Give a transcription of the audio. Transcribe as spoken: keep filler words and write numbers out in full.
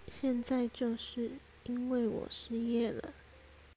现在就是因为我失业了，